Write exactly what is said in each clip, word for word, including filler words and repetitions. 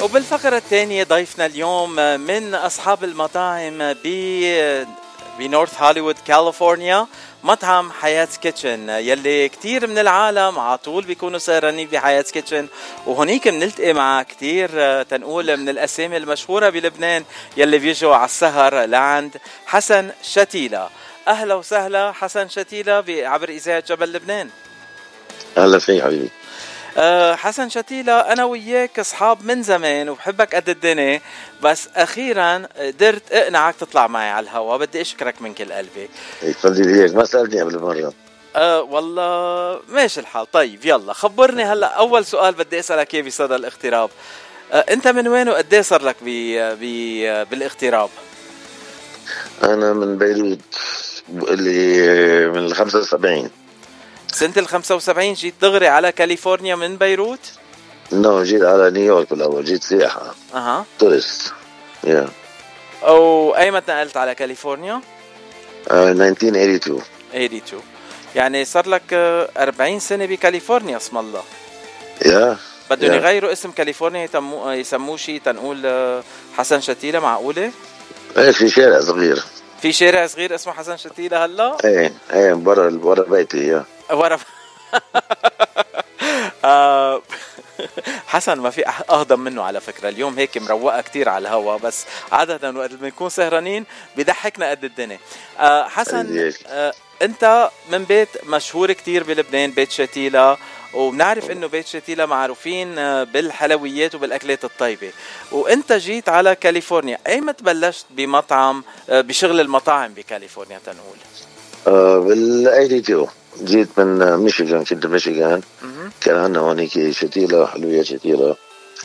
وبالفقرة الثانية ضيفنا اليوم من أصحاب المطاعم ب بنورث هوليوود كاليفورنيا، مطعم حياة كيتشن، يلي كتير من العالم عطول بيكونوا سهرانين بحياة كيتشن. وهنيك بنلتقي مع كتير تنقول من الأسامي المشهورة بلبنان يلي بيجوا على السهر لعند حسن شتيلة. أهلا وسهلا حسن شتيلة عبر إذاعة جبل لبنان. أهلا فيك حبيبي. أه حسن شتيلة، أنا وياك أصحاب من زمان وبحبك قد الدنيا، بس أخيرا قدرت أقنعك تطلع معي على الهوا. بدي أشكرك من كل قلبي. يفضل هيك، ما سألتني قبل مرة. أه والله ماشي الحال. طيب يلا خبرني هلأ. أول سؤال بدي أسألك إياه بصدى الاغتراب، أه أنت من وين وقديه صار لك بي بي بالاغتراب؟ أنا من بيروت، اللي من الخمسة وسبعين. سنة الخمسة وسبعين جيت دغري على كاليفورنيا من بيروت؟ نو جيت على نيويورك بالأول، جيت سياحة. أها تورست. يا أو أي متى نقلت على كاليفورنيا؟ ألف وتسعمية واثنين وثمانين. ثمانية وثمانين، يعني صار لك أربعين سنة بكاليفورنيا. اسم الله. يا بدهم يغيروا اسم كاليفورنيا يسموه شيء تنقول حسن شتيلة؟ معقولة؟ ايه في شارع صغير، في شارع صغير اسمه حسن شتيلة هلا؟ ايه ايه برا برا بيتي. يا ورا حسن ما في أهضم منه على فكرة. اليوم هيك مروقة كتير على الهوا، بس عادة وقت بنكون سهرانين بيضحكنا قد الدنيا. آه حسن، آه أنت من بيت مشهور كتير بلبنان، بيت شتيلة، وبنعرف إنه بيت شتيلة معروفين بالحلويات وبالأكلات الطيبة، وأنت جيت على كاليفورنيا. أيمت بلشت بمطعم بشغل المطاعم بكاليفورنيا تنقول؟ آه بال ثمانية وثمانين جيت من ميشيغان، كنت بميشيغان. كان عندنا هونيك شتيلة، حلويات شتيلة،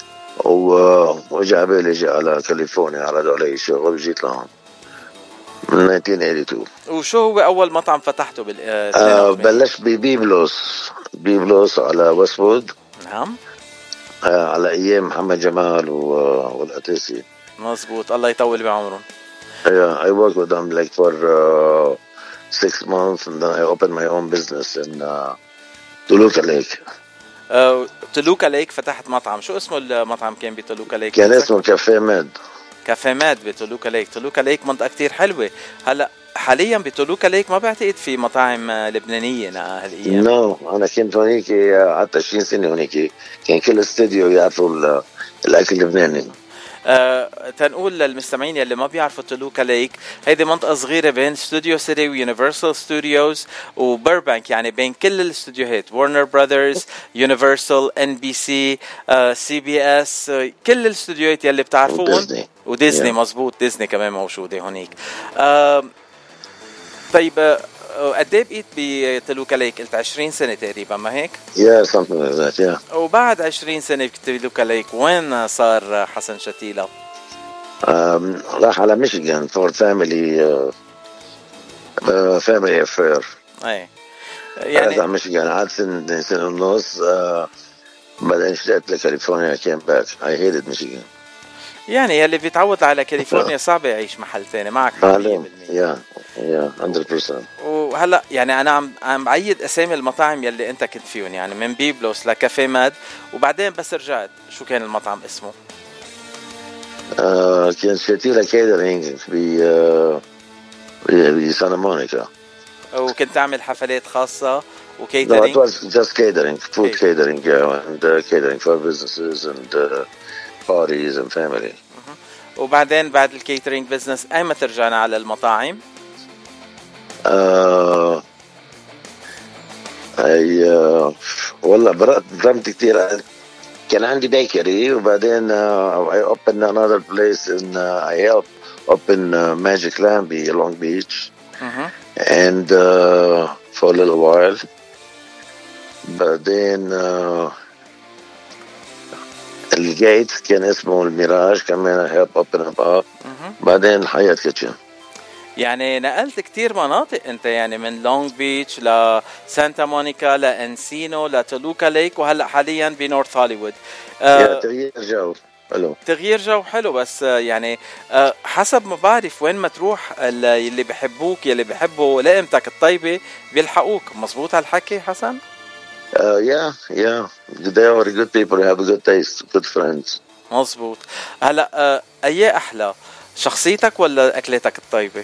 وجا بالي جي على كاليفورنيا، عرضوا علي شغل وجيت لهون من ألف وتسعمية واثنين وثمانين. وشو هو أول مطعم فتحته بال آه بلشت ببيبلوس، بيبلوس على ويستوود. نعم. آه على أيام محمد جمال والقتيسي. مزبوط، الله يطول بعمرهم. Yeah, I worked with them like for uh, six months, and then I opened my own business in uh, Toluca Lake. uh, تولوكا ليك فتحت مطعم. شو اسمه المطعم كان بتولوكا ليك؟ كان اسمه كافيه ماد. كافيه ماد بتولوكا ليك. تولوكا ليك منطقة كتير حلوة. هلا حاليا بتولوكا ليك ما بعتقد في مطاعم لبنانية هالأيام. نو no, أنا كنت هونيك قعدت عشرين سنة هونيك. كان كل استوديو يعرفوا الأكل اللبناني. أه تنقول للمستمعين يلي ما بيعرفوا تولوكا ليك، هيدي منطقة صغيرة بين ستوديو سيتي ويونيفرسال ستوديوز وبربانك، يعني بين كل الاستوديوهات، وارنر براذرز، يونيفرسال، ان بي سي، سي بي اس، كل الاستوديوهات يلي بتعرفوهم، وديزني, وديزني. yeah. مزبوط، ديزني كمان موجودة هونيك. أه طيب قد ايه بقيت بتولوكا ليك؟ قلت عشرين سنة تقريبا، ما هيك؟ يا yeah, something like that, yeah. وبعد عشرين سنة بتولوكا ليك وين صار حسن شتيلة؟ um, راح على ميشيغان for family uh, uh, family affair. اي يعني على ميشيغان قعدت سنة سنة ونص، uh, بعدين اشتقت لكاليفورنيا. came back. I hated Michigan. يعني يلي بيتعود على كاليفورنيا صعب يعيش محل ثاني. معك معلوم. يا يا مية بالمية. وهلا يعني انا عم عم بعيد اسامي المطاعم يلي انت كنت فيهم، يعني من بيبلوس لكافيه ماد، وبعدين بس رجعت شو كان المطعم اسمه؟ آه كان شتيلة كيترينج ب آه بسانتا مونيكا، وكنت تعمل حفلات خاصة وكيترينج؟ No, it was just catering, food okay. catering, yeah, and uh, catering for businesses and uh, parties and family. وبعدين بعد الكيترينج بزنس ايمتى ترجعنا على المطاعم؟ آه اي آه والله برمت كتير. كان عندي بيكري، وبعدين uh, I opened another place in uh, I helped open uh, Magic Lamb in Long Beach. uh-huh. and uh, for a little while, بعدين uh, الجيت كان اسمه الميراج، كمان help open up up. uh-huh. بعدين حياة كيتشن. يعني نقلت كتير مناطق انت، يعني من لونج بيتش لسانتا مونيكا لانسينو لتولوكا ليك، وهلا حاليا بنورث هوليوود. آه تغيير جو حلو. تغيير جو حلو، بس يعني آه حسب ما بعرف وين ما تروح اللي بيحبوك يلي بيحبوا لقمتك الطيبة بيلحقوك. مزبوط هالحكي حسن؟ Uh, yeah, yeah. They are good people. They have a good taste, good friends. مظبوط. هلا آه اي احلى شخصيتك ولا اكلتك الطيبه؟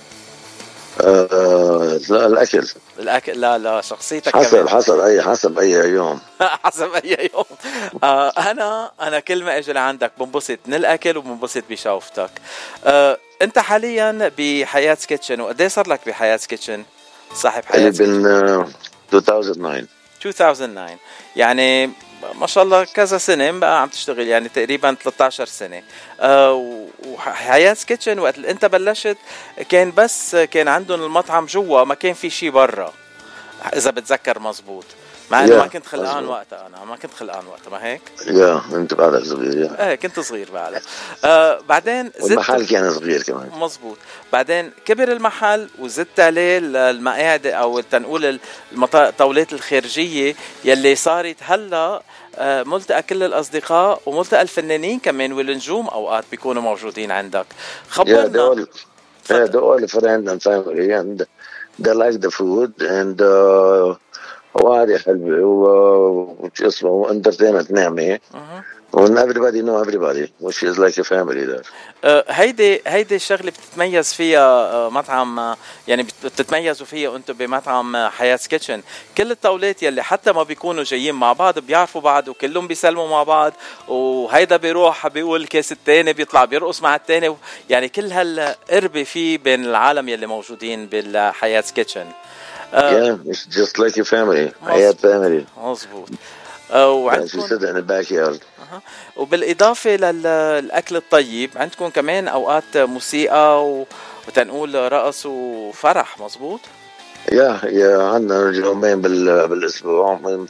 آه لا الاكل. الاكل. لا لا شخصيتك حسب كمان. حسب اي حسب اي يوم. حسب اي يوم. آه انا انا كل ما اجي لعندك بنبسط من الاكل وبنبسط بشوفتك. آه انت حاليا بحياة كيتشن، وقد ايه صار لك بحياة كيتشن؟ صاحب حياة كيتشن uh, ألفين وتسعة. ألفين وتسعة يعني ما شاء الله كذا سنة بقى عم تشتغل، يعني تقريبا ثلاثة عشر سنة. أه وحياة كيتشن وقت انت بلشت كان بس كان عندهم المطعم جوا، ما كان في شي برا اذا بتذكر مزبوط. مع انه yeah, ما كنت خلقان وقتها، انا ما كنت خلقان وقتها، ما هيك؟ يا yeah, انت بعدك صغير. yeah. ايه كنت صغير بعدها. آه بعدين زدت والمحل كان صغير كمان. مزبوط. بعدين كبر المحل وزدت عليه المقاعد او تنقول الطاولات الخارجيه يلي صارت هلا آه ملتقى كل الاصدقاء وملتقى الفنانين كمان والنجوم اوقات بيكونوا موجودين عندك. خبرنا. yeah, yeah, they're all friends and family and they like the food and uh, وعادي حلوة وش اسمه وانترتينمنت نعمة. and everybody know everybody which is like a family there. uh, هيدي هيدي الشغله بتتميز فيها uh, مطعم uh, يعني بتتميزوا فيها انتم بمطعم uh, حياة كيتشن. كل الطاولات يلي حتى ما بيكونوا جايين مع بعض بيعرفوا بعض وكلهم بيسلموا مع بعض، وهيدا بيروح بيقول كيس التاني بيطلع بيرقص مع التاني، يعني كل هالقربة فيه بين العالم يلي موجودين بالحياة كيتشن. Uh, yeah, it's just like a family. حياة family. مظبوط. وعندكم yeah, in the backyard. أه. وبالإضافة للأكل الطيب عندكم كمان أوقات موسيقى و... وتنقول رقص وفرح. مظبوط. يا يا عندنا يومين بال... بالأسبوع من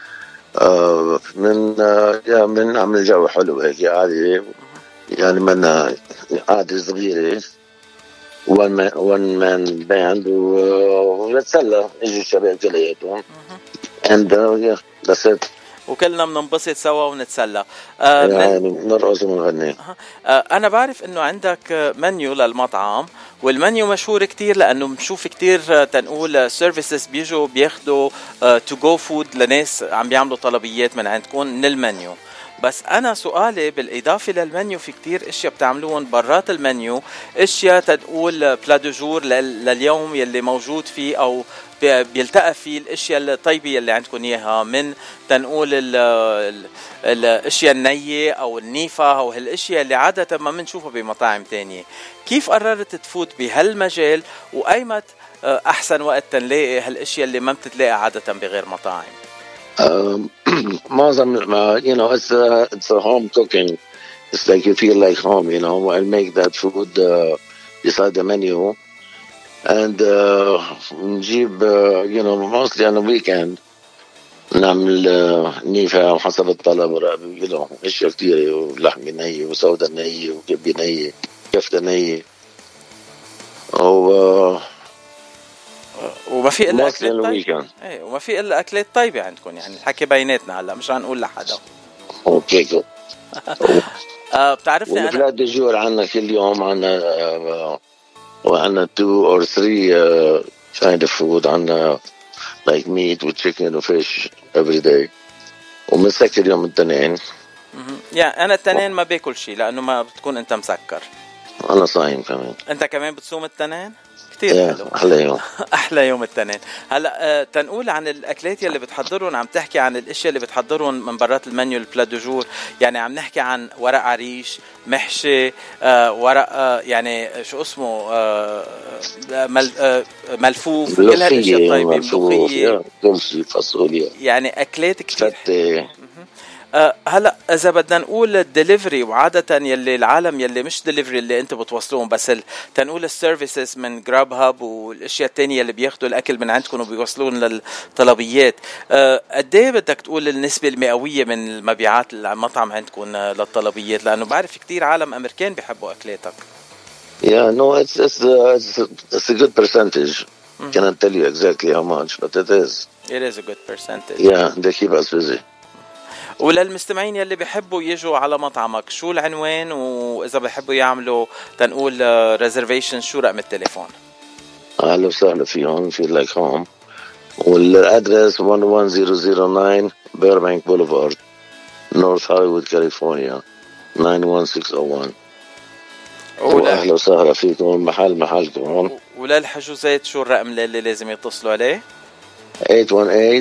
آه من آه يا من نعمل جو حلو هيك عادي، يعني من عادي صغيرة وان مان وان مان باند ونتسلى يجي الشباب كلياتهم and uh, yeah that's it. وكلنا بننبسط سوا ونتسلى. آه يعني نرقص ونغني. آه أنا بعرف إنه عندك منيو للمطعم، والمنيو مشهور كتير لأنه بنشوف كتير تنقول سيرفيسز بيجوا بياخدوا تو جو فود لناس عم بيعملوا طلبيات من عندكم من المنيو. بس أنا سؤالي بالإضافة للمنيو في كتير إشياء بتعملون برات المنيو، إشياء تنقول بلا دو جور لليوم يلي موجود فيه أو بيلتقى فيه الاشياء الطيبه اللي عندكم اياها، من تنقول ال ال الاشياء النيه او النيفه او هالاشياء اللي عاده ما بنشوفها بمطاعم تانية. كيف قررت تفوت بهالمجال، وايمت احسن وقت تنلاقي هالاشياء اللي ما بتتلاقي عاده بغير مطاعم؟ معظم you know it's a, it's a home cooking. It's like you feel like home, you know. I make that food uh, beside the menu. and uh, نجيب uh, you know mostly on the weekend نعمل uh, نيفة وحسب الطلب you know اشياء كتيرة، ولحمة نية وسودة نية وكبة نية كفتة نية و وما في الا اكلات طيبة. ايه وما في الا اكلات طيبة عندكم، يعني الحكي بيناتنا هلا مش هنقول لحدا. اوكي. آه بتعرفني انا وفلات دجور عنا كل يوم، عنا uh, وعنا two or three uh, kind of food. عنا like meat with chicken or fish every day. ومنسكر يوم التنين. يعني أنا التنين ما باكل شيء لأنه ما بتكون أنت مسكر. أنا صايم كمان. أنت كمان بتصوم التنين؟ كتير حلو. أحلى يوم. أحلى يوم التنين. هلا آه تنقول عن الأكلات اللي بتحضرون، عم تحكي عن الأشياء اللي بتحضرون من برات المنيو البلا دو جور، يعني عم نحكي عن ورق عريش، محشي، آه ورق آه يعني شو اسمه آه مل آه ملفوف، كل هالأشياء الطيبة، ملوخية، دولسي، فاصوليا، يعني أكلات كتير. فتة. أه هلا اذا بدنا نقول الدليفري، وعاده يلي العالم يلي مش دليفري اللي انت بتوصلون، بس تنقول السيرفيسز من جراب هاب والاشياء التانية اللي بياخدوا الاكل من عندكم وبيوصلون للطلبيات، أه قد ايه بدك تقول النسبه المئويه من المبيعات المطعم عندكم للطلبيات؟ لانه بعرف كتير عالم امريكان بيحبوا اكلاتك. Yeah, no, it's it's uh, it's, it's a good percentage. Mm-hmm. Cannot tell you exactly how much, but it is. It is a good percentage. Yeah, they keep us busy. وللمستمعين يلي بيحبوا يجوا على مطعمك، شو العنوان؟ وإذا بيحبوا يعملوا تنقول ريزرفيشن شو رقم التليفون؟ أهلا وسهلا فيهم في لايك هوم، والأدرس one one zero zero nine Burbank Boulevard, North Hollywood, California تسعة واحد ستة صفر واحد. ولا واهلا وسهلا فيكم. محل محلكم هون. وللحجوزات شو الرقم اللي لازم يتصلوا عليه؟ ثمانية واحد ثمانية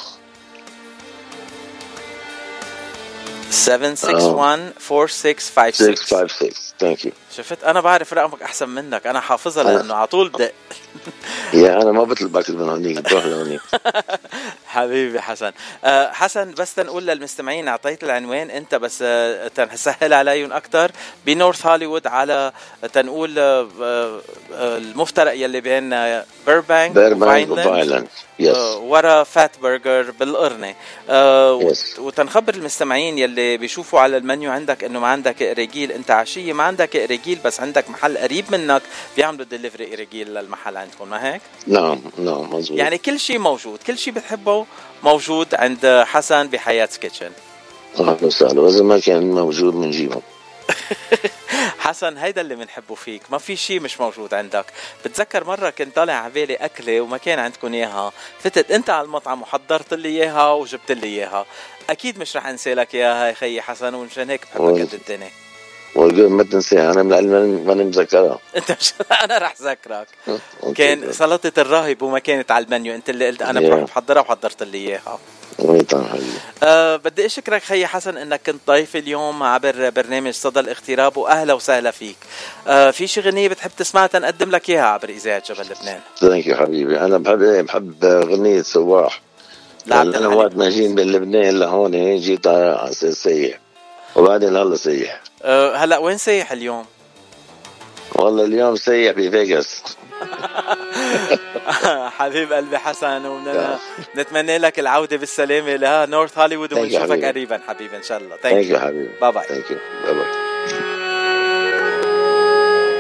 سبعة ستة واحد أربعة ستة خمسة ستة ستة. خمسة ستة. ثانك يو. شفت انا بعرف رقمك احسن منك، انا حافظها لانه على طول بدق. يا انا ما بطلبك من هونيك، بروح لهونيك. حبيبي حسن. أه حسن بس تنقول للمستمعين، اعطيت العنوان انت بس أه تنسهل عليهم اكثر. بنورث هوليوود على تنقول أه أه المفترق يلي بين بيربانك وفاينلاند يس أه ورا فات برجر بالقرنه. أه yes. وتنخبر المستمعين يلي بيشوفوا على المنيو عندك انه ما عندك رجيل، انت عشيه ما عندك رجيل بس عندك محل قريب منك بيعملوا ديليفري رجيل للمحل عندكم، ما هيك؟ نعم نعم مزبوط. يعني كل شيء موجود، كل شيء بتحبه موجود عند حسن بحياة كيتشن. اهلا وسهلا، واذا ما كان موجود بنجيبه. حسن هيدا اللي بنحبه فيك، ما في شيء مش موجود عندك. بتذكر مرة كنت طالع على بالي أكلة وما كان عندكم إياها، فتت أنت على المطعم وحضرت لي إياها وجبت لي إياها. أكيد مش رح أنسى لك إياها يا خيي حسن، ومشان هيك بحبك قد الدنيا. والقول ما تنسيها، أنا من ماني مذكرها. أنت مش أنا رح ذكرك. كان سلطة الراهب وما كانت على المنيو، أنت اللي قلت أنا بروح بحضرها وحضرت لي إياها. أه بدي أشكرك خي حسن إنك كنت ضيف اليوم عبر برنامج صدى الاغتراب، وأهلا وسهلا فيك. أه في شي غنية بتحب تسمعها تنقدم لك إياها عبر إذاعة جبل لبنان؟ ثانك يو حبيبي. أنا بحب بحب غنية سواح. أنا وقت ما جيت من لبنان لهون جيت على أساس سيح، وبعدين هلا سيح. أه هلا وين سيح اليوم؟ والله اليوم سيح بفيغاس. حبيب قلبي حسن، ونتمنى لك العودة بالسلامة لنورث هوليوود، ونشوفك قريبا حبيبي إن شاء الله. ثانك يو حبيبي. باي باي. ثانك يو. باي باي.